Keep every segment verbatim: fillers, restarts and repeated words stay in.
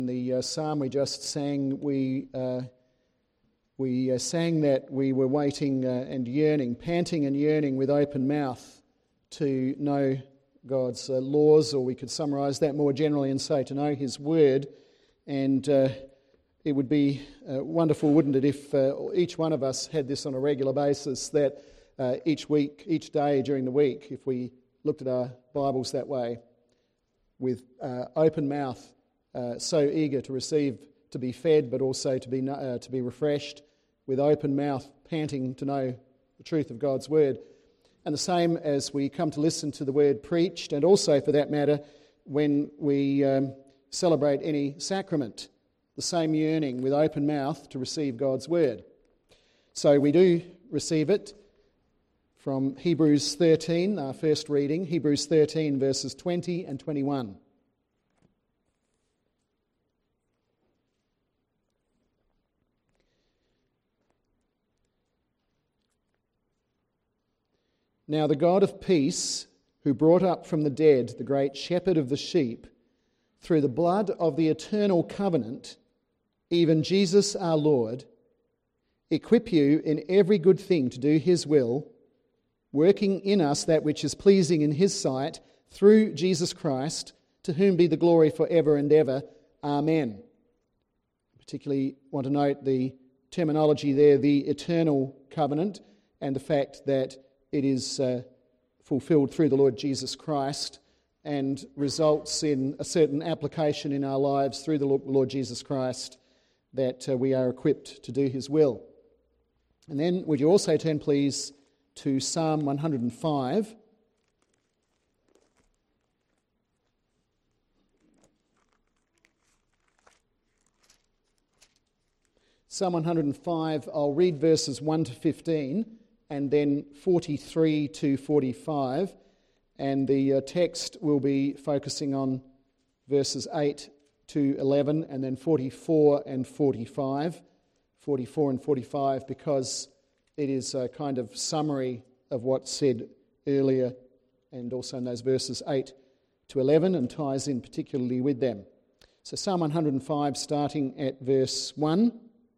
In the uh, psalm we just sang, we uh, we uh, sang that we were waiting uh, and yearning, panting and yearning with open mouth to know God's uh, laws, or we could summarise that more generally and say to know His Word. And uh, it would be uh, wonderful, wouldn't it, if uh, each one of us had this on a regular basis, that uh, each week, each day during the week, if we looked at our Bibles that way, with uh, open mouth, Uh, so eager to receive, to be fed, but also to be uh, to be refreshed, with open mouth, panting to know the truth of God's Word. And the same as we come to listen to the Word preached, and also, for that matter, when we um, celebrate any sacrament, the same yearning with open mouth to receive God's Word. So we do receive it from Hebrews thirteen, our first reading, Hebrews thirteen, verses twenty and twenty-one. Now the God of peace, who brought up from the dead the great shepherd of the sheep, through the blood of the eternal covenant, even Jesus our Lord, equip you in every good thing to do His will, working in us that which is pleasing in His sight, through Jesus Christ, to whom be the glory forever and ever. Amen. I particularly want to note the terminology there, the eternal covenant, and the fact that it is uh, fulfilled through the Lord Jesus Christ and results in a certain application in our lives through the Lord Jesus Christ, that uh, we are equipped to do His will. And then would you also turn, please, to Psalm one hundred five. Psalm one hundred five, I'll read verses one to fifteen, and then forty-three to forty-five, and the uh, text will be focusing on verses eight to eleven, and then forty-four and forty-five, forty-four and forty-five, because it is a kind of summary of what's said earlier, and also in those verses eight to eleven, and ties in particularly with them. So Psalm one hundred five, starting at verse one.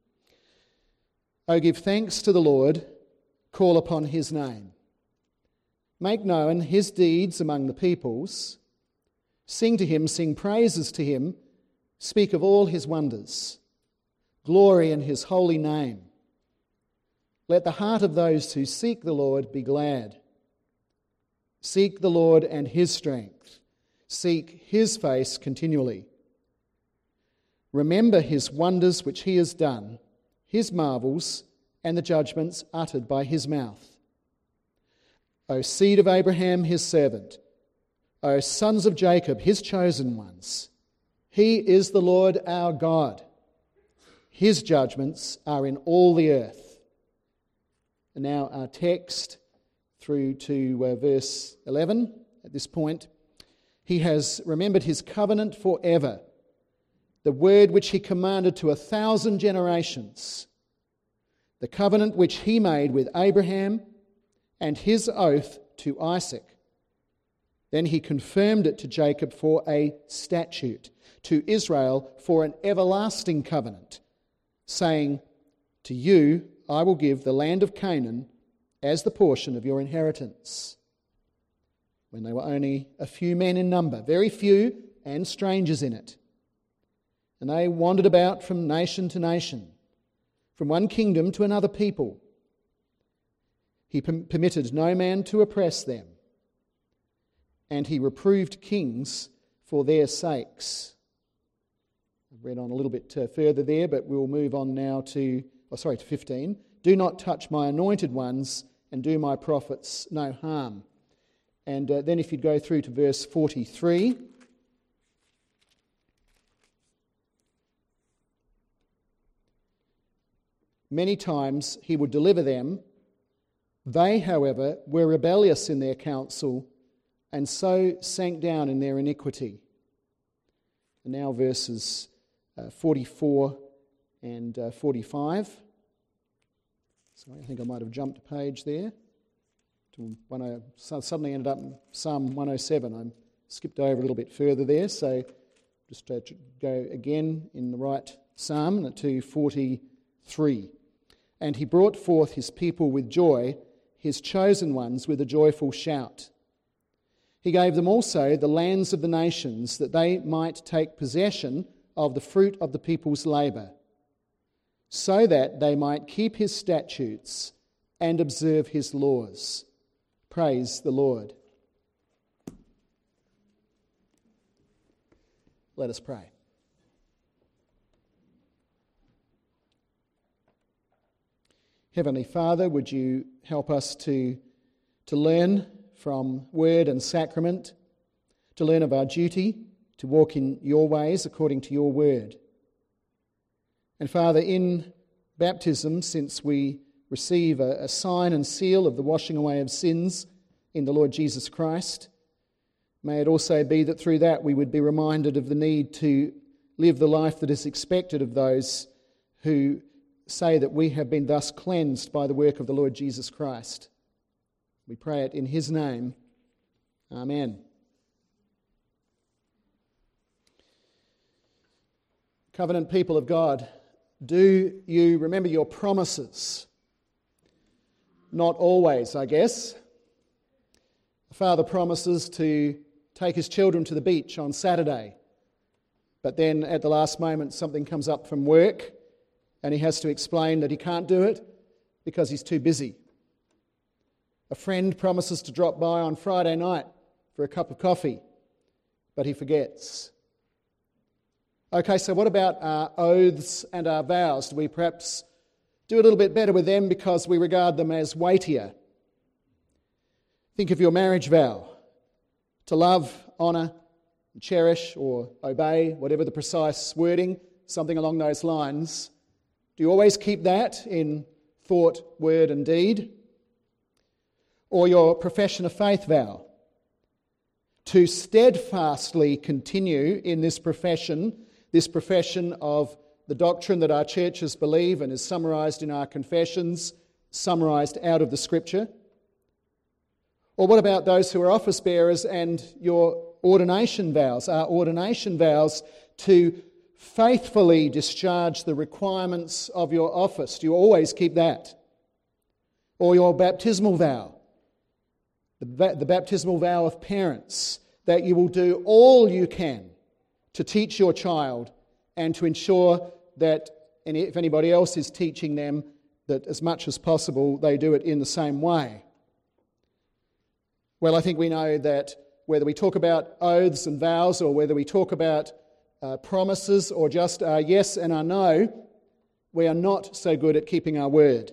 O give thanks to the Lord, call upon His name. Make known His deeds among the peoples. Sing to Him, sing praises to Him. Speak of all His wonders. Glory in His holy name. Let the heart of those who seek the Lord be glad. Seek the Lord and His strength. Seek His face continually. Remember His wonders which He has done, His marvels, and the judgments uttered by His mouth. O seed of Abraham, His servant, O sons of Jacob, His chosen ones, He is the Lord our God. His judgments are in all the earth. And now our text through to uh, verse eleven. At this point, He has remembered His covenant forever, the word which He commanded to a thousand generations, the covenant which He made with Abraham, and His oath to Isaac. Then He confirmed it to Jacob for a statute, to Israel for an everlasting covenant, saying, To you I will give the land of Canaan as the portion of your inheritance. When they were only a few men in number, very few, and strangers in it. And they wandered about from nation to nation, from one kingdom to another people. He permitted no man to oppress them, and He reproved kings for their sakes. I've read on a little bit uh, further there, but we'll move on now to, oh sorry, to fifteen. Do not touch my anointed ones, and do my prophets no harm. And uh, then if you'd go through to verse forty-three. Many times He would deliver them. They, however, were rebellious in their counsel, and so sank down in their iniquity. And now verses uh, forty-four and uh, forty-five. Sorry, I think I might have jumped a page there. To one oh, so suddenly ended up in Psalm one oh seven. I skipped over a little bit further there, so just uh, go again in the right psalm to forty-three. And he brought forth his people with joy, his chosen ones with a joyful shout. He gave them also the lands of the nations, that they might take possession of the fruit of the people's labour, so that they might keep his statutes and observe his laws. Praise the Lord. Let us pray. Heavenly Father, would you help us to, to learn from word and sacrament, to learn of our duty, to walk in your ways according to your word. And Father, in baptism, since we receive a, a sign and seal of the washing away of sins in the Lord Jesus Christ, may it also be that through that we would be reminded of the need to live the life that is expected of those who say that we have been thus cleansed by the work of the Lord Jesus Christ. We pray it in his name. Amen. Covenant people of God, do you remember your promises? Not always, I guess. The father promises to take his children to the beach on Saturday, but then at the last moment something comes up from work and he has to explain that he can't do it because he's too busy. A friend promises to drop by on Friday night for a cup of coffee, but he forgets. Okay, so what about our oaths and our vows? Do we perhaps do a little bit better with them because we regard them as weightier? Think of your marriage vow: to love, honour, cherish or obey, whatever the precise wording, something along those lines. Do you always keep that in thought, word and deed? Or your profession of faith vow: to steadfastly continue in this profession, this profession of the doctrine that our churches believe and is summarised in our confessions, summarised out of the Scripture? Or what about those who are office bearers and your ordination vows, our ordination vows to faithfully discharge the requirements of your office? Do you always keep that? Or your baptismal vow, the, the baptismal vow of parents, that you will do all you can to teach your child and to ensure that and if anybody else is teaching them, that as much as possible they do it in the same way. Well, I think we know that whether we talk about oaths and vows or whether we talk about uh, promises or just our yes and our no, we are not so good at keeping our word.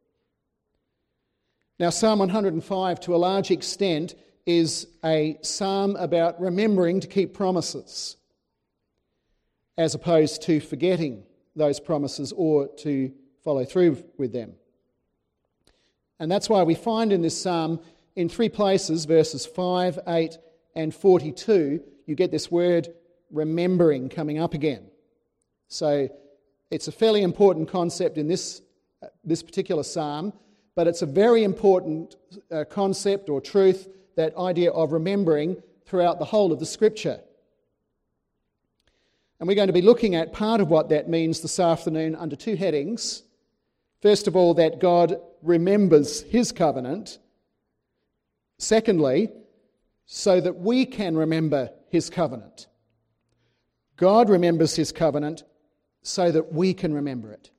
Now, Psalm one hundred five, to a large extent, is a psalm about remembering to keep promises, as opposed to forgetting those promises or to follow through with them. And that's why we find in this psalm, in three places, verses five, eight and forty-two, you get this word remembering coming up again. So it's a fairly important concept in this, uh, this particular psalm, but it's a very important uh, concept or truth, that idea of remembering throughout the whole of the Scripture. And we're going to be looking at part of what that means this afternoon under two headings. First of all, that God remembers his covenant. Secondly, so that we can remember his covenant. God remembers his covenant so that we can remember it.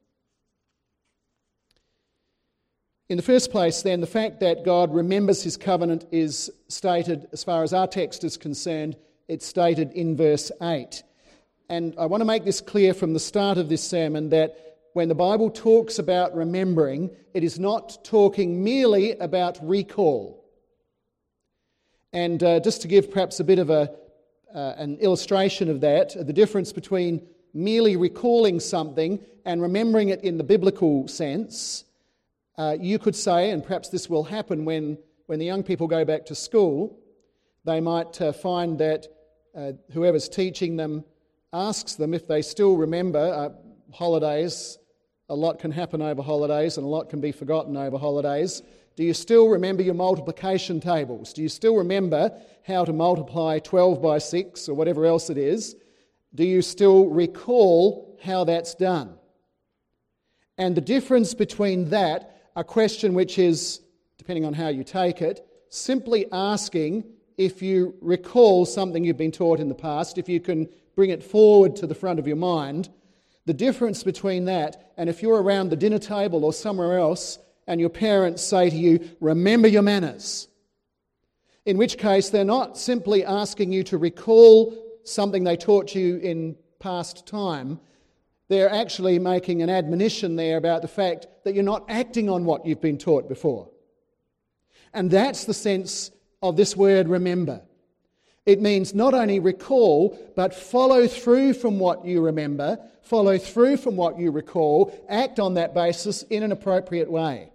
In the first place, then, the fact that God remembers his covenant is stated, as far as our text is concerned, it's stated in verse eight. And I want to make this clear from the start of this sermon that when the Bible talks about remembering, it is not talking merely about recall. And uh, just to give perhaps a bit of a uh, an illustration of that, the difference between merely recalling something and remembering it in the biblical sense, uh, you could say, and perhaps this will happen when, when the young people go back to school, they might uh, find that uh, whoever's teaching them asks them if they still remember uh, holidays. A lot can happen over holidays and a lot can be forgotten over holidays. Do you still remember your multiplication tables? Do you still remember how to multiply twelve by six or whatever else it is? Do you still recall how that's done? And the difference between that, a question which is, depending on how you take it, simply asking if you recall something you've been taught in the past, if you can bring it forward to the front of your mind, the difference between that and if you're around the dinner table or somewhere else and your parents say to you, remember your manners, in which case they're not simply asking you to recall something they taught you in past time, they're actually making an admonition there about the fact that you're not acting on what you've been taught before. And that's the sense of this word remember. It means not only recall, but follow through from what you remember, follow through from what you recall, act on that basis in an appropriate way.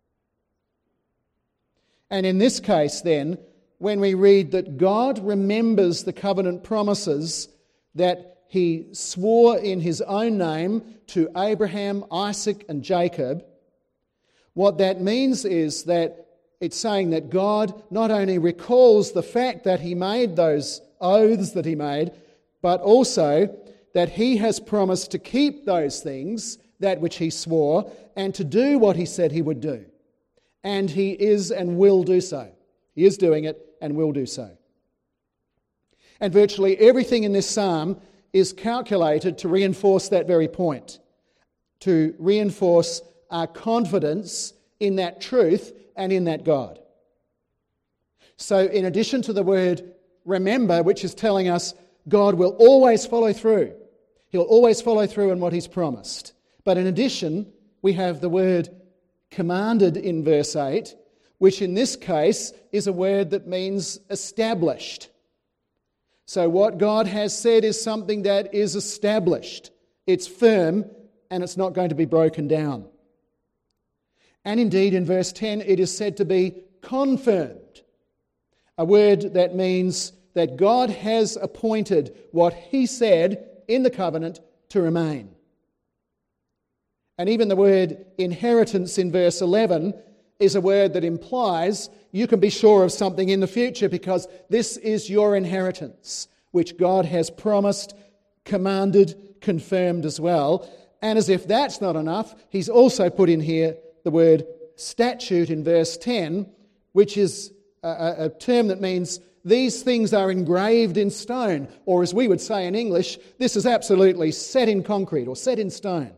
And in this case then, when we read that God remembers the covenant promises that He swore in His own name to Abraham, Isaac and Jacob, what that means is that it's saying that God not only recalls the fact that He made those oaths that He made, but also that He has promised to keep those things, that which He swore, and to do what He said He would do. And He is and will do so. He is doing it and will do so. And virtually everything in this psalm is calculated to reinforce that very point, to reinforce our confidence in that truth and in that God. So in addition to the word remember, which is telling us God will always follow through. He'll always follow through on what He's promised. But in addition, we have the word commanded in verse eight, which in this case is a word that means established. So what God has said is something that is established. It's firm and it's not going to be broken down. And indeed, in verse ten, it is said to be confirmed, a word that means that God has appointed what He said in the covenant to remain. And even the word inheritance in verse eleven is a word that implies you can be sure of something in the future because this is your inheritance, which God has promised, commanded, confirmed as well. And as if that's not enough, He's also put in here the word statute in verse ten, which is a, a term that means these things are engraved in stone, or as we would say in English, this is absolutely set in concrete or set in stone.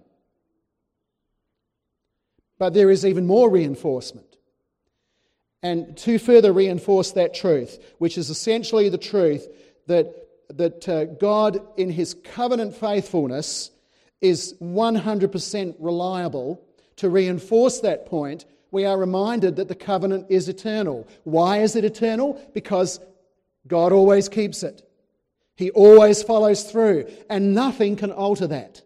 But there is even more reinforcement. And to further reinforce that truth, which is essentially the truth that, that uh, God in His covenant faithfulness is one hundred percent reliable. To reinforce that point, we are reminded that the covenant is eternal. Why is it eternal? Because God always keeps it. He always follows through, and nothing can alter that.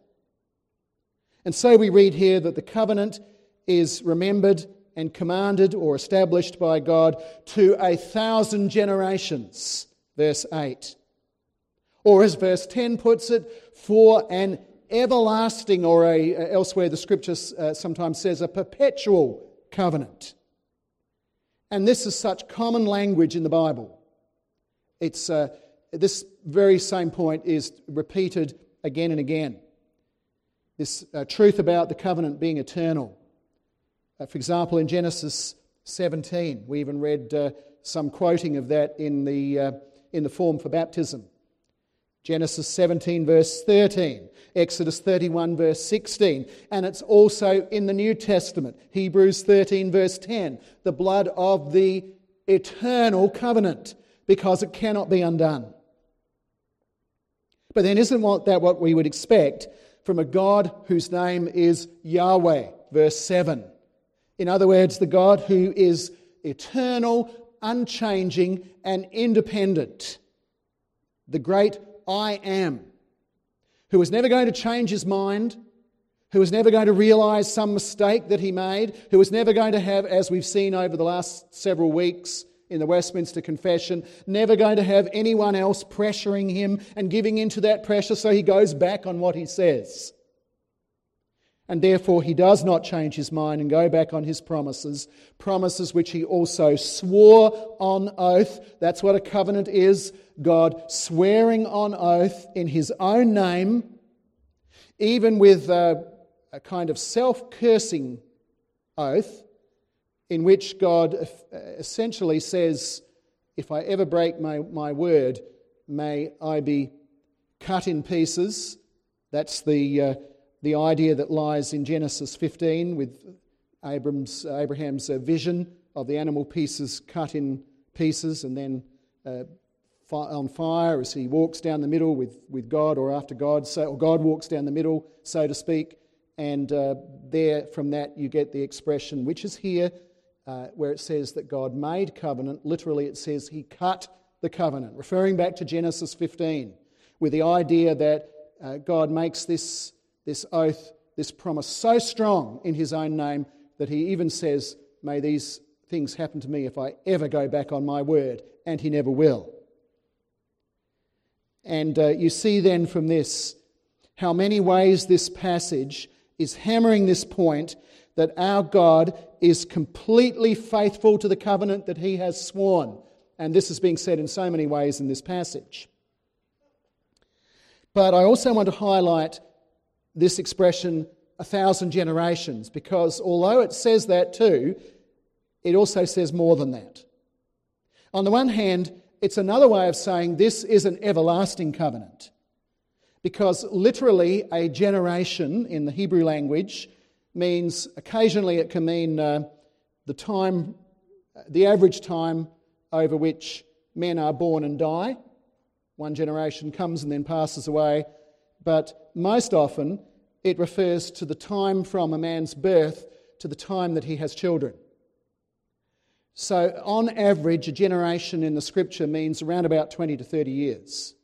And so we read here that the covenant is remembered and commanded or established by God to a thousand generations, verse eight. Or as verse ten puts it, for an everlasting, or a, elsewhere the scripture uh, sometimes says a perpetual covenant. And this is such common language in the Bible. It's uh, this very same point is repeated again and again. This uh, truth about the covenant being eternal. Uh, for example, in Genesis seventeen, we even read uh, some quoting of that in the uh, in the form for baptism. Genesis seventeen verse thirteen, Exodus thirty-one verse sixteen, and it's also in the New Testament, Hebrews thirteen verse ten, the blood of the eternal covenant, because it cannot be undone. But then isn't that what we would expect from a God whose name is Yahweh, verse seven? In other words, the God who is eternal, unchanging, and independent. The great I am, who is never going to change His mind, who is never going to realise some mistake that He made, who is never going to have, as we've seen over the last several weeks in the Westminster Confession, never going to have anyone else pressuring Him and giving into that pressure so He goes back on what He says. and therefore he does not change his mind and go back on his promises, promises which he also swore on oath. That's what a covenant is, God swearing on oath in his own name, even with a, a kind of self-cursing oath, in which God essentially says, if I ever break my, my word, may I be cut in pieces. That's the uh, the idea that lies in Genesis fifteen with Abram's, uh, Abraham's uh, vision of the animal pieces cut in pieces and then uh, fi- on fire as he walks down the middle with, with God or after God, so, or God walks down the middle, so to speak. And uh, there, from that, you get the expression, which is here, uh, where it says that God made covenant. Literally, it says he cut the covenant, referring back to Genesis fifteen, with the idea that uh, God makes this, this oath, this promise so strong in his own name that he even says, may these things happen to me if I ever go back on my word, and he never will. And uh, you see then from this how many ways this passage is hammering this point that our God is completely faithful to the covenant that he has sworn. And this is being said in so many ways in this passage. But I also want to highlight this expression, a thousand generations, because although it says that too, it also says more than that. On the one hand, it's another way of saying this is an everlasting covenant, because literally a generation in the Hebrew language means, occasionally it can mean uh, the time, the average time over which men are born and die. One generation comes and then passes away, but most often it refers to the time from a man's birth to the time that he has children. So on average, a generation in the scripture means around about twenty to thirty years.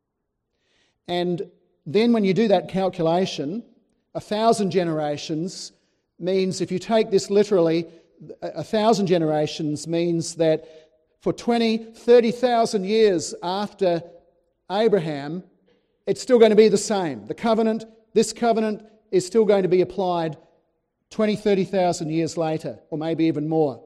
And then when you do that calculation, a thousand generations means, if you take this literally, a thousand generations means that for twenty, thirty thousand years after Abraham, it's still going to be the same. The covenant, this covenant is still going to be applied twenty, thirty thousand years later, or maybe even more.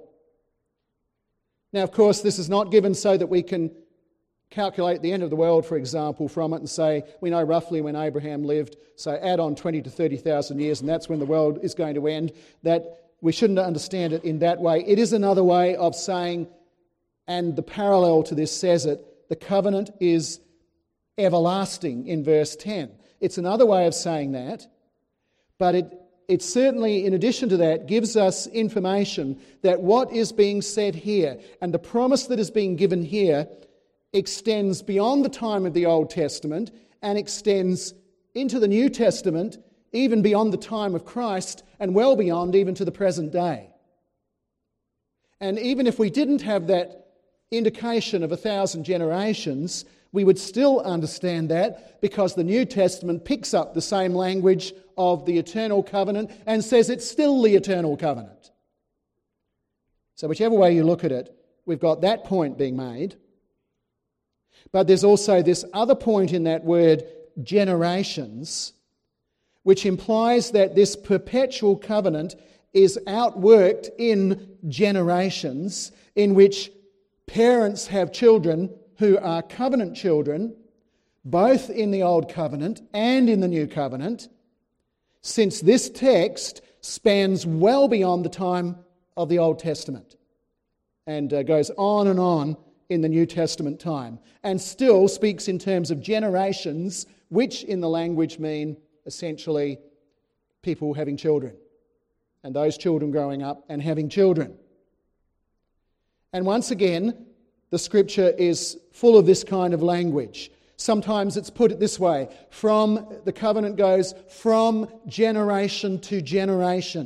Now, of course, this is not given so that we can calculate the end of the world, for example, from it and say, we know roughly when Abraham lived, so add on twenty to thirty thousand years and that's when the world is going to end. That we shouldn't understand it in that way. It is another way of saying, and the parallel to this says it, the covenant is everlasting in verse ten. It's another way of saying that, but it It certainly, in addition to that, gives us information that what is being said here and the promise that is being given here extends beyond the time of the Old Testament and extends into the New Testament, even beyond the time of Christ and well beyond even to the present day. And even if we didn't have that indication of a thousand generations, we would still understand that because the New Testament picks up the same language of the eternal covenant and says it's still the eternal covenant. So whichever way you look at it, we've got that point being made. But there's also this other point in that word, generations, which implies that this perpetual covenant is outworked in generations in which parents have children who are covenant children, both in the Old Covenant and in the New Covenant, since this text spans well beyond the time of the Old Testament and uh, goes on and on in the New Testament time, and still speaks in terms of generations, which in the language mean essentially people having children, and those children growing up and having children. And once again, the scripture is full of this kind of language. Sometimes it's put it this way, from the covenant goes from generation to generation.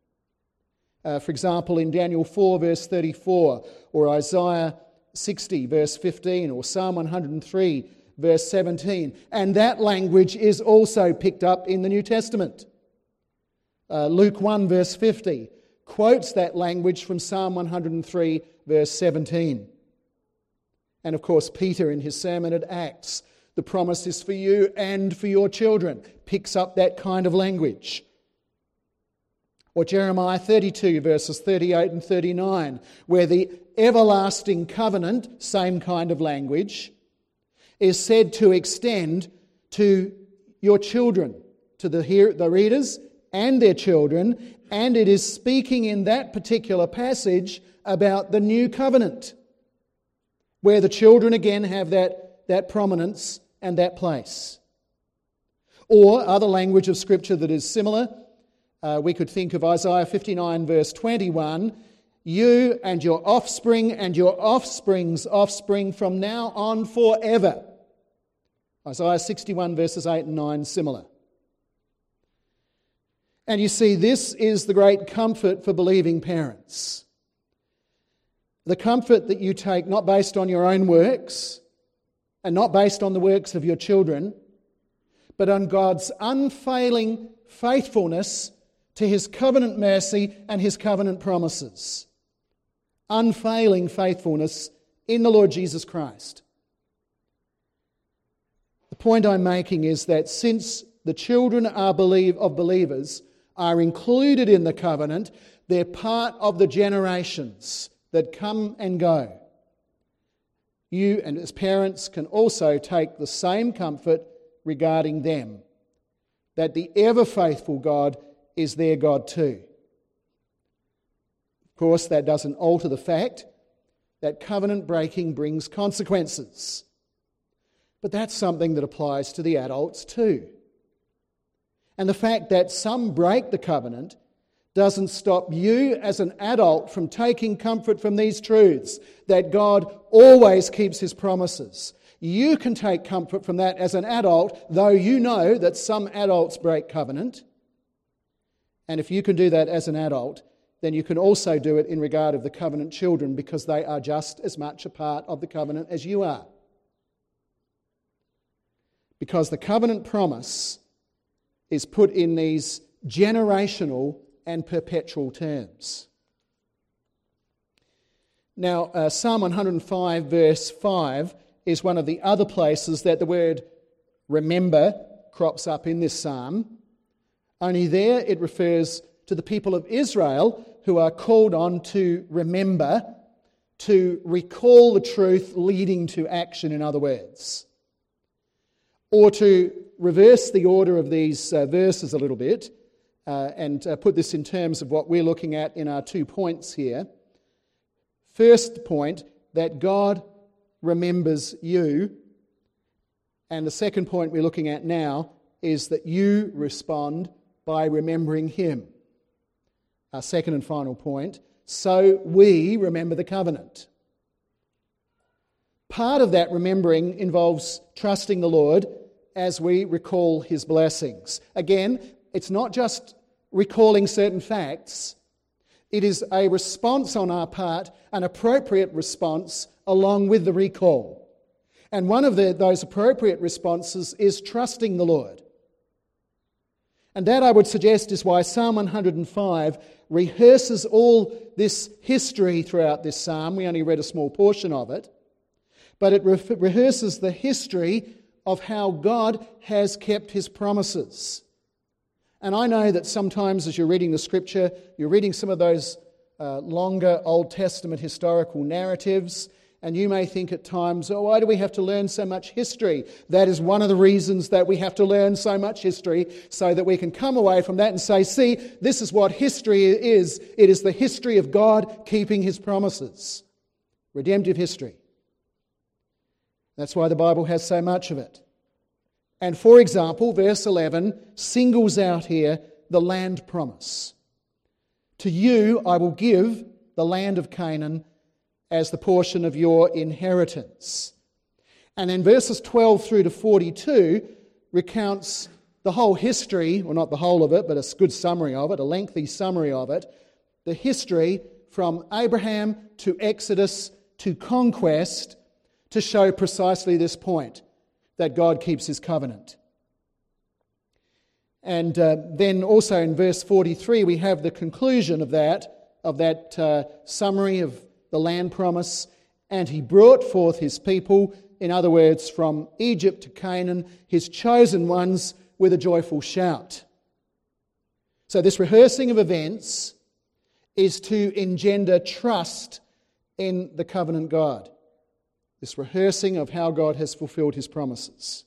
Uh, for example, in Daniel four verse thirty-four, or Isaiah sixty verse fifteen, or Psalm one hundred three verse seventeen. And that language is also picked up in the New Testament. Uh, Luke one verse fifty quotes that language from Psalm one hundred three verse seventeen. And of course, Peter in his sermon at Acts, the promise is for you and for your children, picks up that kind of language. Or Jeremiah thirty-two, verses thirty-eight and thirty-nine, where the everlasting covenant, same kind of language, is said to extend to your children, to the, hear, the readers and their children, and it is speaking in that particular passage about the new covenant, where the children again have that, that prominence and that place. Or other language of Scripture that is similar, uh, we could think of Isaiah fifty-nine, verse twenty-one, you and your offspring and your offspring's offspring from now on forever. Isaiah sixty-one, verses eight and nine, similar. And you see, this is the great comfort for believing parents. The comfort that you take not based on your own works and not based on the works of your children, but on God's unfailing faithfulness to His covenant mercy and His covenant promises. Unfailing faithfulness in the Lord Jesus Christ. The point I'm making is that since the children are believe of believers are included in the covenant, they're part of the generations that come and go. You and as parents can also take the same comfort regarding them, that the ever-faithful God is their God too. Of course, that doesn't alter the fact that covenant breaking brings consequences. But that's something that applies to the adults too. And the fact that some break the covenant doesn't stop you as an adult from taking comfort from these truths, that God always keeps His promises. You can take comfort from that as an adult, though you know that some adults break covenant. And if you can do that as an adult, then you can also do it in regard of the covenant children, because they are just as much a part of the covenant as you are. Because the covenant promise is put in these generational and perpetual terms. Now, uh, Psalm one hundred five, verse five, is one of the other places that the word remember crops up in this psalm. Only there it refers to the people of Israel who are called on to remember, to recall the truth leading to action, in other words. Or to reverse the order of these uh, verses a little bit uh, and uh, put this in terms of what we're looking at in our two points here. First point, that God remembers you. And the second point we're looking at now is that you respond by remembering Him. Our second and final point, so we remember the covenant. Part of that remembering involves trusting the Lord as we recall His blessings. Again, it's not just recalling certain facts. It is a response on our part, an appropriate response along with the recall. And one of the, those appropriate responses is trusting the Lord. And that, I would suggest, is why Psalm one hundred five rehearses all this history throughout this psalm. We only read a small portion of it. But it re- rehearses the history of how God has kept His promises. And I know that sometimes as you're reading the Scripture, you're reading some of those uh, longer Old Testament historical narratives, and you may think at times, oh, why do we have to learn so much history? That is one of the reasons that we have to learn so much history, so that we can come away from that and say, see, this is what history is. It is the history of God keeping His promises. Redemptive history. That's why the Bible has so much of it. And for example, verse eleven singles out here the land promise. To you I will give the land of Canaan as the portion of your inheritance. And then verses twelve through to forty-two recounts the whole history, well, not the whole of it, but a good summary of it, a lengthy summary of it, the history from Abraham to Exodus to conquest, to show precisely this point, that God keeps His covenant. And uh, then also in verse forty-three, we have the conclusion of that, of that uh, summary of the land promise. And He brought forth His people, in other words, from Egypt to Canaan, His chosen ones, with a joyful shout. So this rehearsing of events is to engender trust in the covenant God. This rehearsing of how God has fulfilled his promises.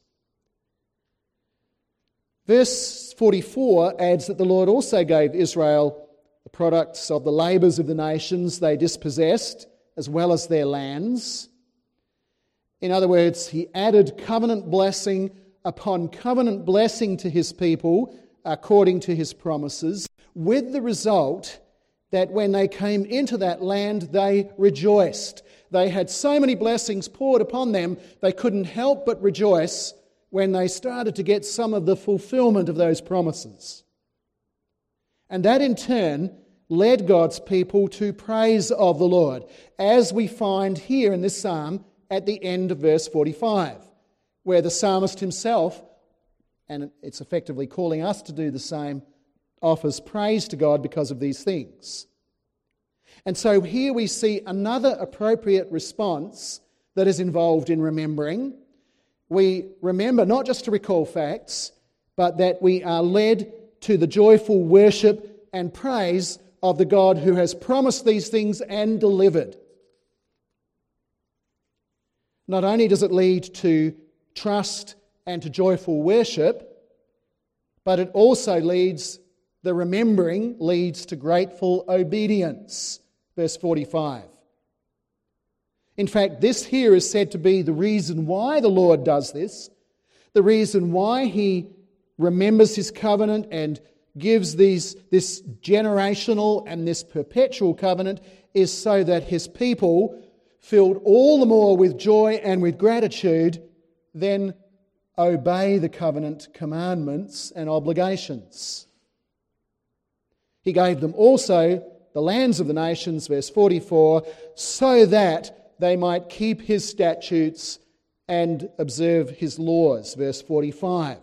Verse forty-four adds that the Lord also gave Israel the products of the labours of the nations they dispossessed, as well as their lands. In other words, he added covenant blessing upon covenant blessing to his people according to his promises, with the result that when they came into that land, they rejoiced. They had so many blessings poured upon them, they couldn't help but rejoice when they started to get some of the fulfillment of those promises. And that in turn led God's people to praise of the Lord, as we find here in this psalm at the end of verse forty-five, where the psalmist himself, and it's effectively calling us to do the same, offers praise to God because of these things. And so here we see another appropriate response that is involved in remembering. We remember not just to recall facts, but that we are led to the joyful worship and praise of the God who has promised these things and delivered. Not only does it lead to trust and to joyful worship, but it also leads, the remembering leads to grateful obedience. Verse forty-five. In fact, this here is said to be the reason why the Lord does this, the reason why he remembers his covenant and gives these, this generational and this perpetual covenant, is so that his people, filled all the more with joy and with gratitude, then obey the covenant commandments and obligations. He gave them also the lands of the nations, verse forty-four, so that they might keep his statutes and observe his laws, verse forty-five.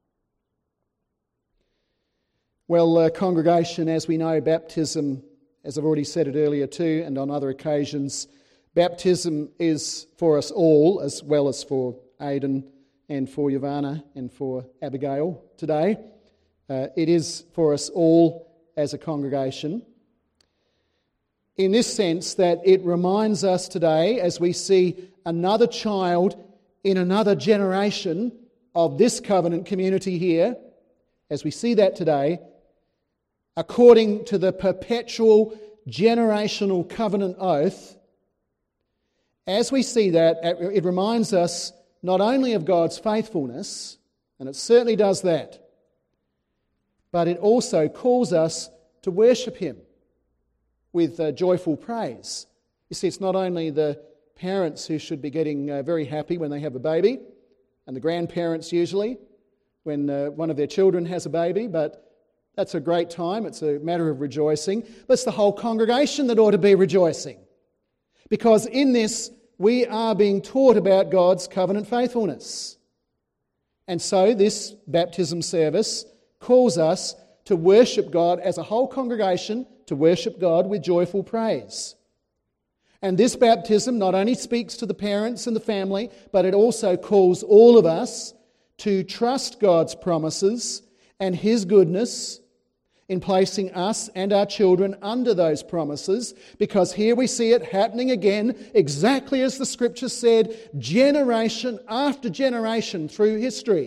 Well, uh, congregation, as we know, baptism, as I've already said it earlier too, and on other occasions, baptism is for us all, as well as for Aidan and for Yavana and for Abigail today. Uh, it is for us all as a congregation, in this sense that it reminds us today, as we see another child in another generation of this covenant community here, as we see that today, according to the perpetual generational covenant oath, as we see that, it reminds us not only of God's faithfulness, and it certainly does that, but it also calls us to worship him with uh, joyful praise. You see, it's not only the parents who should be getting uh, very happy when they have a baby, and the grandparents usually, when uh, one of their children has a baby, but that's a great time, it's a matter of rejoicing. But it's the whole congregation that ought to be rejoicing. Because in this, we are being taught about God's covenant faithfulness. And so this baptism service calls us to worship God as a whole congregation, to worship God with joyful praise. And this baptism not only speaks to the parents and the family, but it also calls all of us to trust God's promises and his goodness in placing us and our children under those promises, because here we see it happening again, exactly as the Scripture said, generation after generation through history.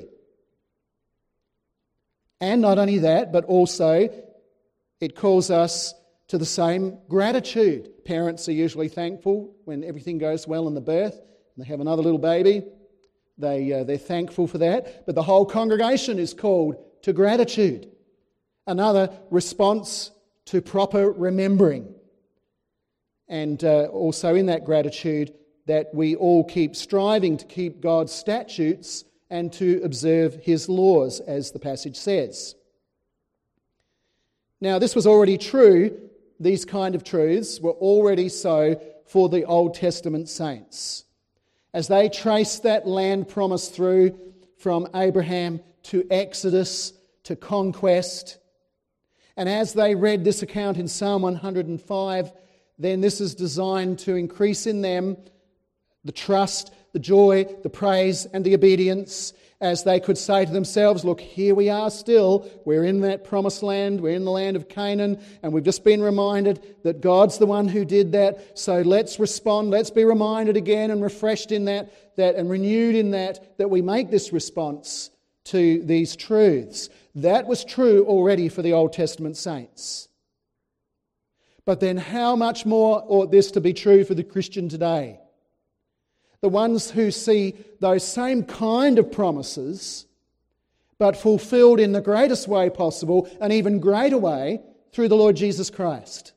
And not only that, but also it calls us to the same gratitude. Parents are usually thankful when everything goes well in the birth, and they have another little baby. They, uh, they're thankful for that. But the whole congregation is called to gratitude. Another response to proper remembering. And uh, also in that gratitude that we all keep striving to keep God's statutes and to observe his laws, as the passage says. Now, this was already true. These kind of truths were already so for the Old Testament saints. As they traced that land promise through from Abraham to Exodus to conquest, and as they read this account in Psalm one hundred five, then this is designed to increase in them the trust, the joy, the praise and the obedience, as they could say to themselves, look, here we are still, we're in that promised land, we're in the land of Canaan, and we've just been reminded that God's the one who did that, so let's respond, let's be reminded again and refreshed in that, that and renewed in that, that we make this response to these truths. That was true already for the Old Testament saints. But then how much more ought this to be true for the Christian today? The ones who see those same kind of promises, but fulfilled in the greatest way possible, an even greater way, through the Lord Jesus Christ.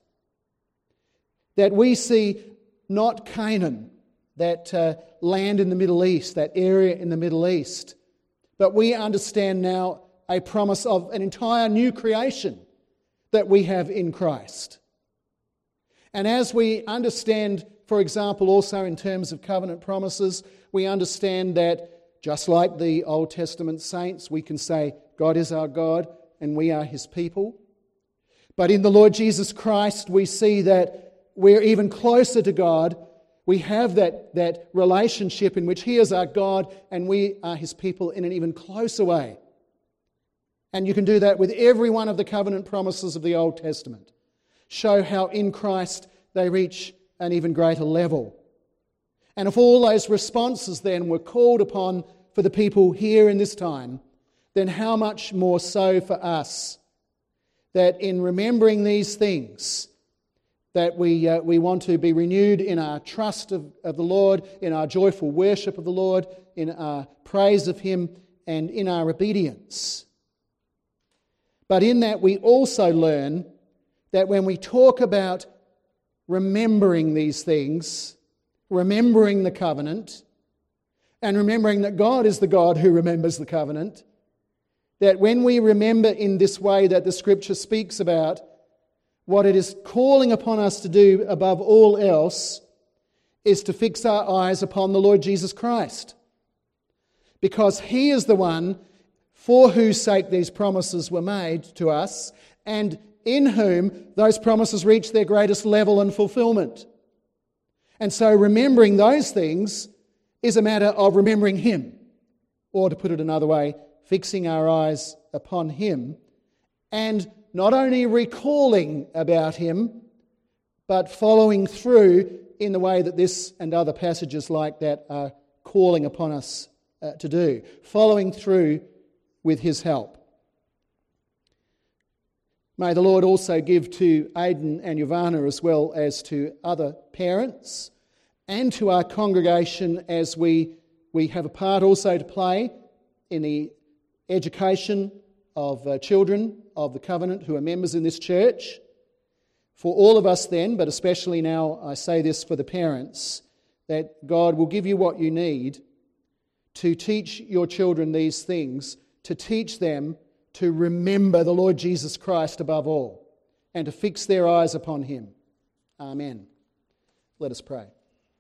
That we see not Canaan, that uh, land in the Middle East, that area in the Middle East, but we understand now a promise of an entire new creation that we have in Christ. And as we understand, for example, also in terms of covenant promises, we understand that just like the Old Testament saints, we can say God is our God and we are His people. But in the Lord Jesus Christ, we see that we're even closer to God. We have that, that relationship in which He is our God and we are His people in an even closer way. And you can do that with every one of the covenant promises of the Old Testament. Show how in Christ they reach an even greater level. And if all those responses then were called upon for the people here in this time, then how much more so for us, that in remembering these things, that we uh, we want to be renewed in our trust of, of the Lord, in our joyful worship of the Lord, in our praise of Him, and in our obedience. But in that we also learn that when we talk about remembering these things, remembering the covenant, and remembering that God is the God who remembers the covenant, that when we remember in this way that the Scripture speaks about, what it is calling upon us to do above all else is to fix our eyes upon the Lord Jesus Christ. Because He is the one for whose sake these promises were made to us, and in whom those promises reach their greatest level and fulfillment. And so remembering those things is a matter of remembering Him, or to put it another way, fixing our eyes upon Him, and not only recalling about Him, but following through in the way that this and other passages like that are calling upon us uh, to do, following through with His help. May the Lord also give to Aidan and Yovana, as well as to other parents and to our congregation, as we, we have a part also to play in the education of uh, children of the covenant who are members in this church. For all of us then, but especially now I say this for the parents, that God will give you what you need to teach your children these things, to teach them to remember the Lord Jesus Christ above all, and to fix their eyes upon Him. Amen. Let us pray.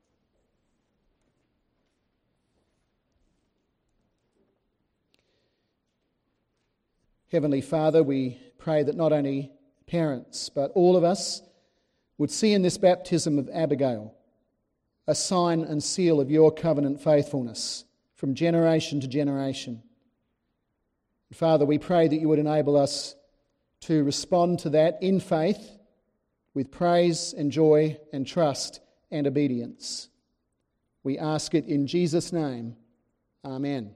Heavenly Father, we pray that not only parents, but all of us would see in this baptism of Abigail a sign and seal of your covenant faithfulness from generation to generation. Father, we pray that you would enable us to respond to that in faith with praise and joy and trust and obedience. We ask it in Jesus' name. Amen.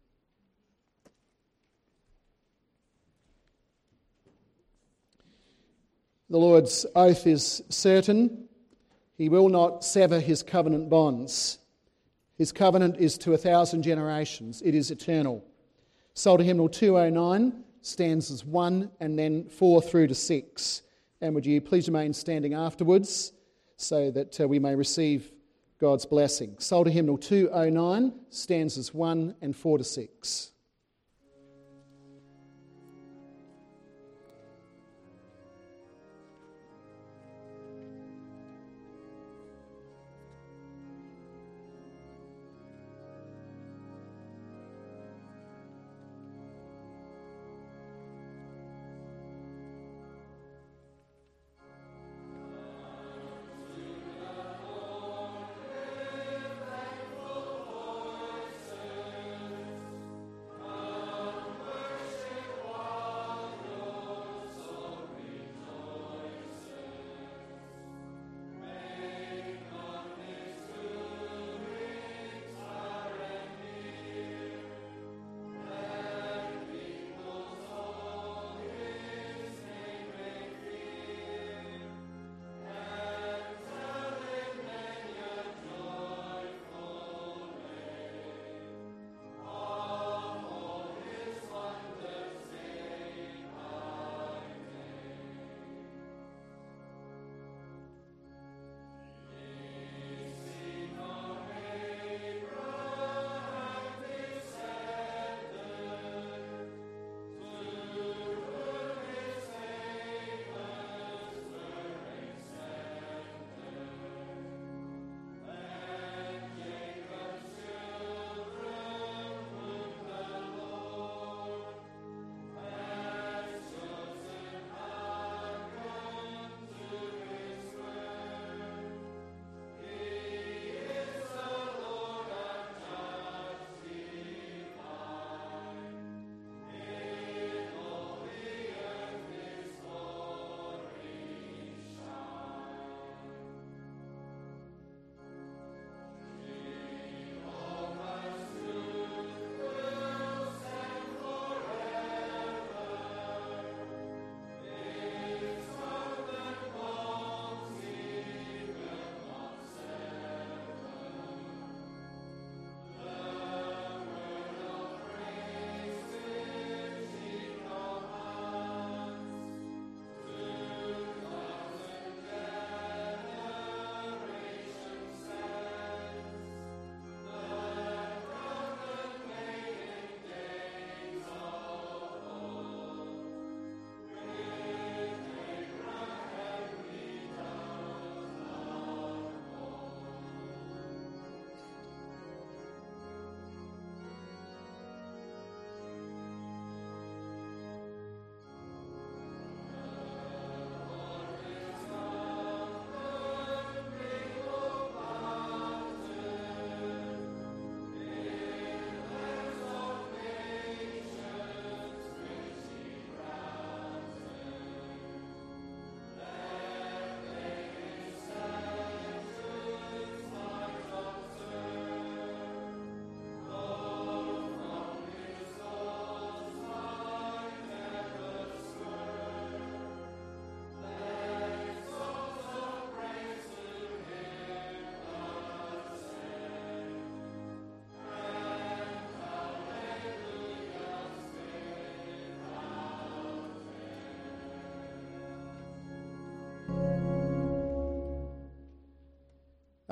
The Lord's oath is certain. He will not sever His covenant bonds. His covenant is to a thousand generations. It is eternal. Psalter Hymnal two oh nine, stanzas one and then four through to six. And would you please remain standing afterwards so that uh, we may receive God's blessing. Psalter Hymnal two oh nine, stanzas one and four to six.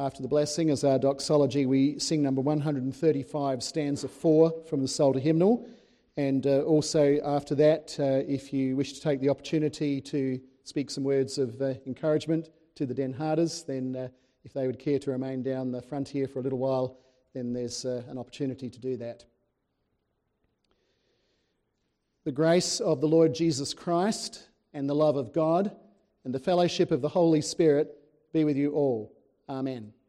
after the blessing, as our doxology, we sing number one hundred thirty-five, stanza four from the Psalter hymnal. And uh, also after that, uh, if you wish to take the opportunity to speak some words of uh, encouragement to the Den Harders, then uh, if they would care to remain down the front here for a little while, then there's uh, an opportunity to do that. The grace of the Lord Jesus Christ and the love of God and the fellowship of the Holy Spirit be with you all. Amen.